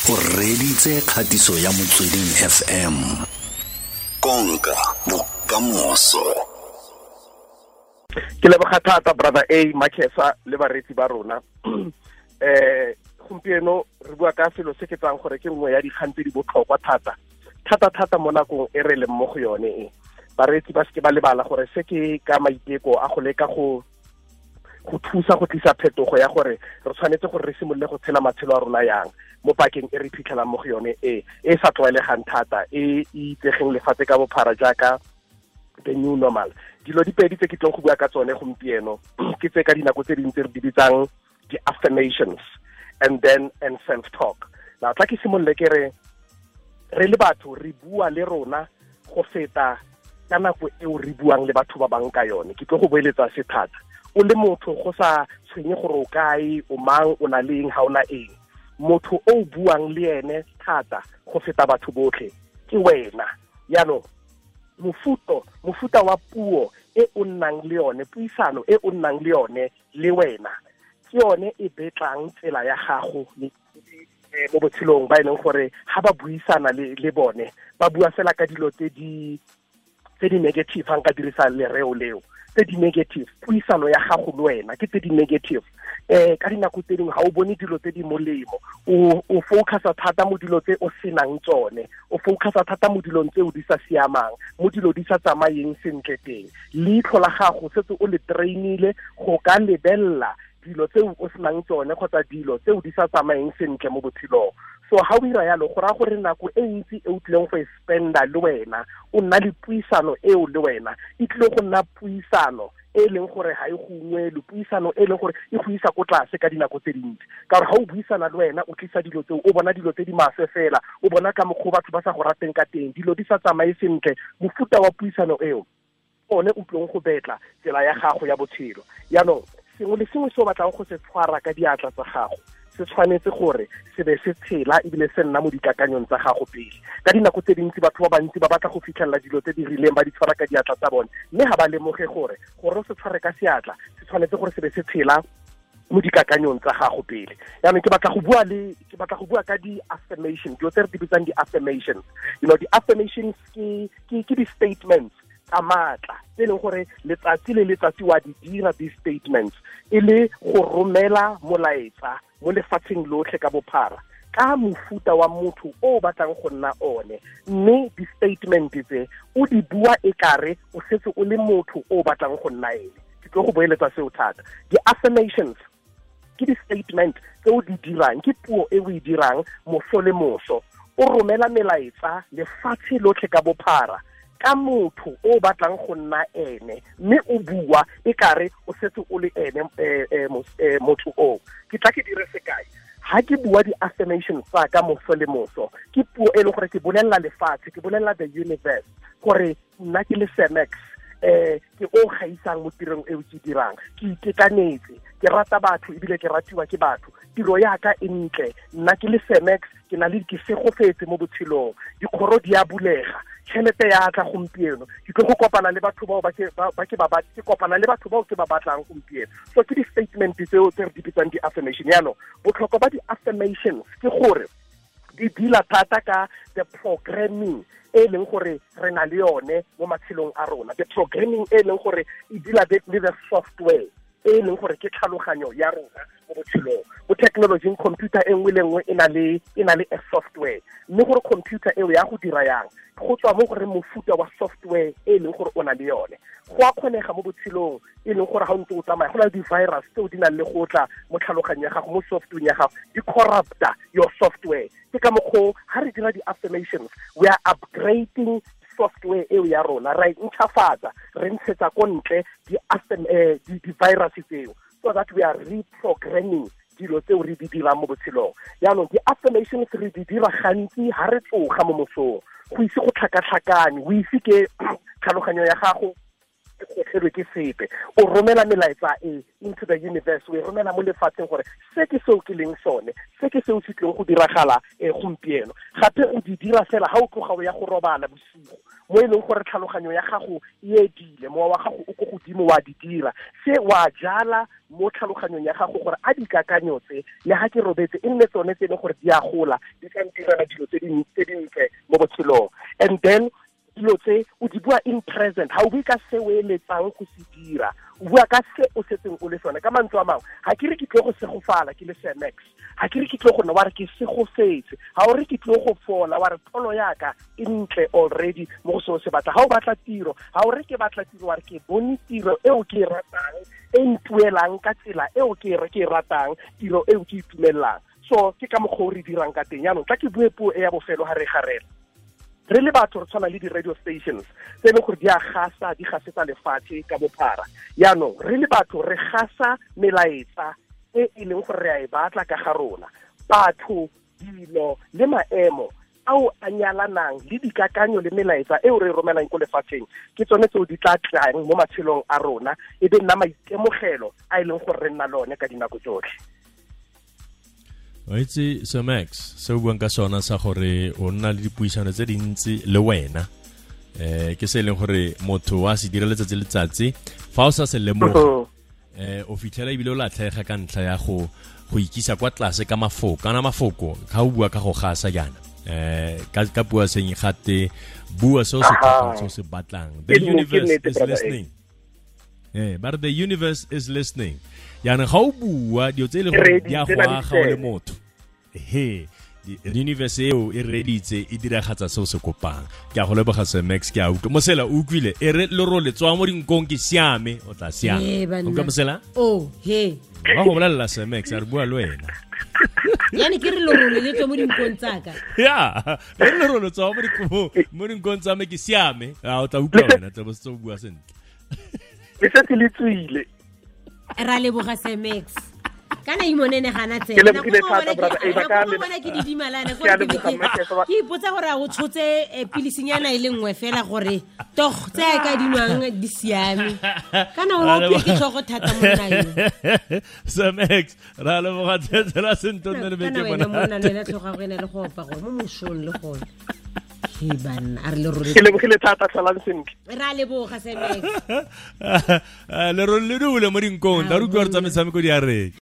o reditse kgatiso ya Motsweding FM. Konka bokamoso. Ke leboga thata brother A Makesa le baretsi ba rona. Gompieno re bua ka selo se ke tsang gore ke nngwe ya dikgang tse di botlhokwa thata mo nakong e re leng mo go yone e. Baretsi ba se ba lebala gore se ke ka maiteko a go leka go thusa go tlisa phetogo ya gore re tshwanetse gore re simolole go tshela matshelo a rona yang mo pakeng e re phitlhelang mo go yone e sa tlwaelegang thata e itsegeng lefatshe ka bophara jaaka the new normal. Dilo di pedi tse ke tlong go bua ka tsone gompieno ke tse ka dinako tse dintsi re di bitsang di-affirmations and self-talk. Now tla ke simolole ke re le batho re bua le rona go feta ka nako eo re buang le batho ba bang ka yone. Ke tlo go boeletsa se thata o le motho go sa tshwenye gore o kae o mang o na leng ha ona eng. Motho o buang le ene thata go feta batho botlhe ke wena. Yano mofuta wa puo e o nnang le yone, puisano e o nnang le yone le wena ke yone e betlang tsela ya gago mo botshelong ba ileng gore ha ba buisana le bone ba bua fela ka dilo tse di negative hang ka dirisa lereo leo tse di negative. Puisano ya gago le wena ke tse di negative. Ka dinako tse dingwe ha o bone dilo tse di molemo, o focusa thata mo dilo tse o senang tsone, o focusa thata mo dilong tse o di sa siamang, mo dilo di sa tsamayeng sentle teng. Leitlho la gago setse o le trainile go ka lebella dilo tse o senang tsone kgotsa dilo tse o di sa tsamayeng sentle mo botshelong. So ha o ira yalo go ra gore nako e ntsi e o tlileng go e spenda le wena o nna le puisano eo le wena e tlile go nna puisano e leng gore ha e go ngwele, puisano e leng gore e go isa ko tlase ka dinako tse dintsi. Ka gore ha o buisana le wena o tlisa dilo tseo o bona dilo tse di maswe fela, o bona ka mokgwa batho ba sa go rateng ka teng, dilo di sa tsamaye sentle. Mofuta wa puisano eo one o tlong go betla tsela ya gago ya botshelo. Yaanong sengwe le sengwe se o batlang go se tshwara ka diatla tsa gago se tshwanetse gore se be se tshela ebile se nna mo dikakanyong tsa gago pele. Ka dinako tse dintsi batho ba bantsi ba batla go fitlhelela dilo tse di rileng ba di tshwara ka diatla tsa bone, mme ga ba lemoge gore o se tshware ka seatla se tshwanetse gore se be se tshela mo dikakanyong tsa gago pele. Yaanong ke batla go bua ka di-affirmations, dilo tse re di bitsang di-affirmations. You know, di-affirmations ke di-statements tsa maatla tse leng gore letsatsi le letsatsi wa di dira di-statements e le go romela molaetsa mo lefatsheng lotlhe ka bophara ka mofuta wa motho o batlang go nna one, mme di-statement tse o di bua e kare o setse o le motho o batlang go nna ene. Ke tlo go boeletsa seo thata. Di-affirmations ke di-statement tse o di dirang, ke puo e o e dirang moso le moso, o romela melaetsa lefatshe lotlhe ka bophara ka motho o batlang go nna ene, mme o bua e kare o setse o le ene motho o. Ke tla ke dire sekai ha ke bua di-affirmations tsa ka moso le moso, ke puo e leng gore ke bolelela lefatshe, ke bolelela the universe gore nna ke le Semex, ke o gaisang mo tirong e o ke dirang, ke itekanetse, ke rata batho ebile ke ratiwa ke batho, tiro ya ka e ntle, nna ke le Semex, ke na le ke segofetse mo botshelong, dikgoro di a bulega, tšhelete ya tla gompieno, ke tlo go kopana le batho bao ke kopana le batho bao ke ba batlang gompieno. So ke di-statement tseo tse re di bitsang di-affirmation. Yaanong botlhokwa ba di-affirmations ke gore di dila thata ka the programming e leng gore re na le yone mo matshelong a rona, the programming e leng gore e dila le the software e leng gore ke tlhaloganyo ya rona mo botshelong. Mo technology computer e nngwe le nngwe e na le a software, mme gore computer eo ya go dira yang go tswa mo gore mofuta wa software e leng gore o na le yone. Go a kgonega mo botshelong e leng gore ga o ntse o tsamaya go na le di-virus tseo di nang le go tla mo tlhaloganyong ya gago, mo software ya gago, di corrupta your software. Ke ka mokgwa ha re dira di-affirmations we are upgrading software eo ya rona, ra ntšhafatsa, re ntshetsa ko ntle di-virus tseo so that we are reprogramming dilo tseo re di dirang mo botshelong. Yaanong di-affirmations re di dira gantsi ha re tsoga mo mosong, go ise go tlhakatlhakane, o ise ke tlhaloganyo ya gago gotlhelwe ke sepe, o romela melaetsa into the universe, o e romela mo lefatsheng gore se ke seo ke leng sone, se ke seo se tleng go diragala gompieno. Gape o di dira fela ha o tloga o ya go robala bosigo, mo e leng gore tlhaloganyo ya gago e edile mowa wa gago o go godimo wa di dira se wa jala mo tlhaloganyong ya gago gore a dikakanyotse le ha ke robetse e nne tsone tse gore di a gola di ka ntirela dilo tse dintle mo botshelong and then dilo tse o di bua in present ha o bue ka se o eletsang go se dira o bua ka se o setseng o le sone ka mantswe a mangwe ha ke re ke tlo go segofala ke le Semex ha ke re ke tlo go nna wa re ke segofetse ha o re ke tlo go fola wa re pholo yaka e ntle already mo go se batla ha o batla tiro ha o re ke batla tiro wa re ke bone tiro eo ke ratang e ntuelang ka tsela eo ke ratang tiro eo ke itumelang so ke ka mogho re dirang ka teng yaanong tla ke bue puo e ya bofelo ha re garela re le batho re tshwana le di-radio stations tse leng gore di a gasa di gasetsa lefatshe ka bophara yaanong re le batho re gasa melaetsa e leng gore re a e batla ka ga rona batho dilo le maemo ao a nyalanang le dikakanyo le melaetsa eo re romelang ko lefatsheng ke tsone tseo di tla tlang mo matshelong a rona e be nna maitemogelo a leng gore re nna lone ka dinako tsotlhe. Wa itse Semex se o buang ka sona sa gore o nna le dipuisano tse dintsi le wena ke se leng gore motho wa se dira letsatsi fa o sa se lemoga o fitlhela ibile o latlhega ka ntlha ya go ikisa kwa tlase ka mafoko kana mafoko ga o bua ka go gasa jana ka bua seng gate bua so se batlang the universe is listening but the universe is listening yana ga o bua dio tse le go ya go aga o le motho the universe eo e reditse e diragatsa se o se kopang ke a go leboga Semex ke a utlwa mosela o utlwile e re le ro le tswa mo dinkong ke siame o tla siame o ka mosela wa go bolela Semex a re bua le wena yani ke re lo le tswa mo dinkong tsaka re le ro le tswa mo dinkong tsa me ke siame o tla utlwa wena tla bo se bua sentle le se ke le tswile ra leboga Semex kana imonene gana ke le thata brother e ba ka le bona ke didimalana go ke ipotsa gore a go tshotse pilisinyana ile nngwe fela gore tog tse ka dinwang di siame kana o ke tsogo thata mo nna Semex ra le boga tsela sento nne be ke bona kana mona le tloga go ena le go opa go mo moshong le go ban a re le ruri ke le thata tsalang sentle ra le boga Semex le ro le dule mo dinkong da ru go tsa metshameko di a re